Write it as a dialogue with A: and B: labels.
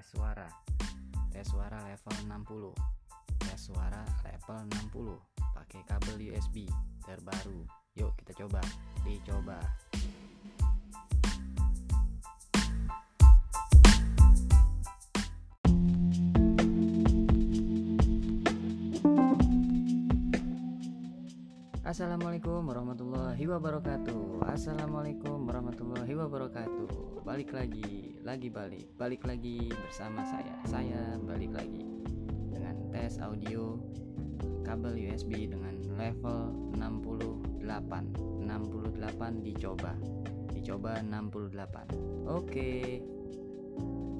A: tes suara level 60, tes suara level 60 pakai kabel USB terbaru. Yuk kita dicoba. Assalamualaikum warahmatullahi wabarakatuh. Balik lagi bersama saya balik lagi dengan tes audio kabel USB dengan level 68 dicoba 68. Oke.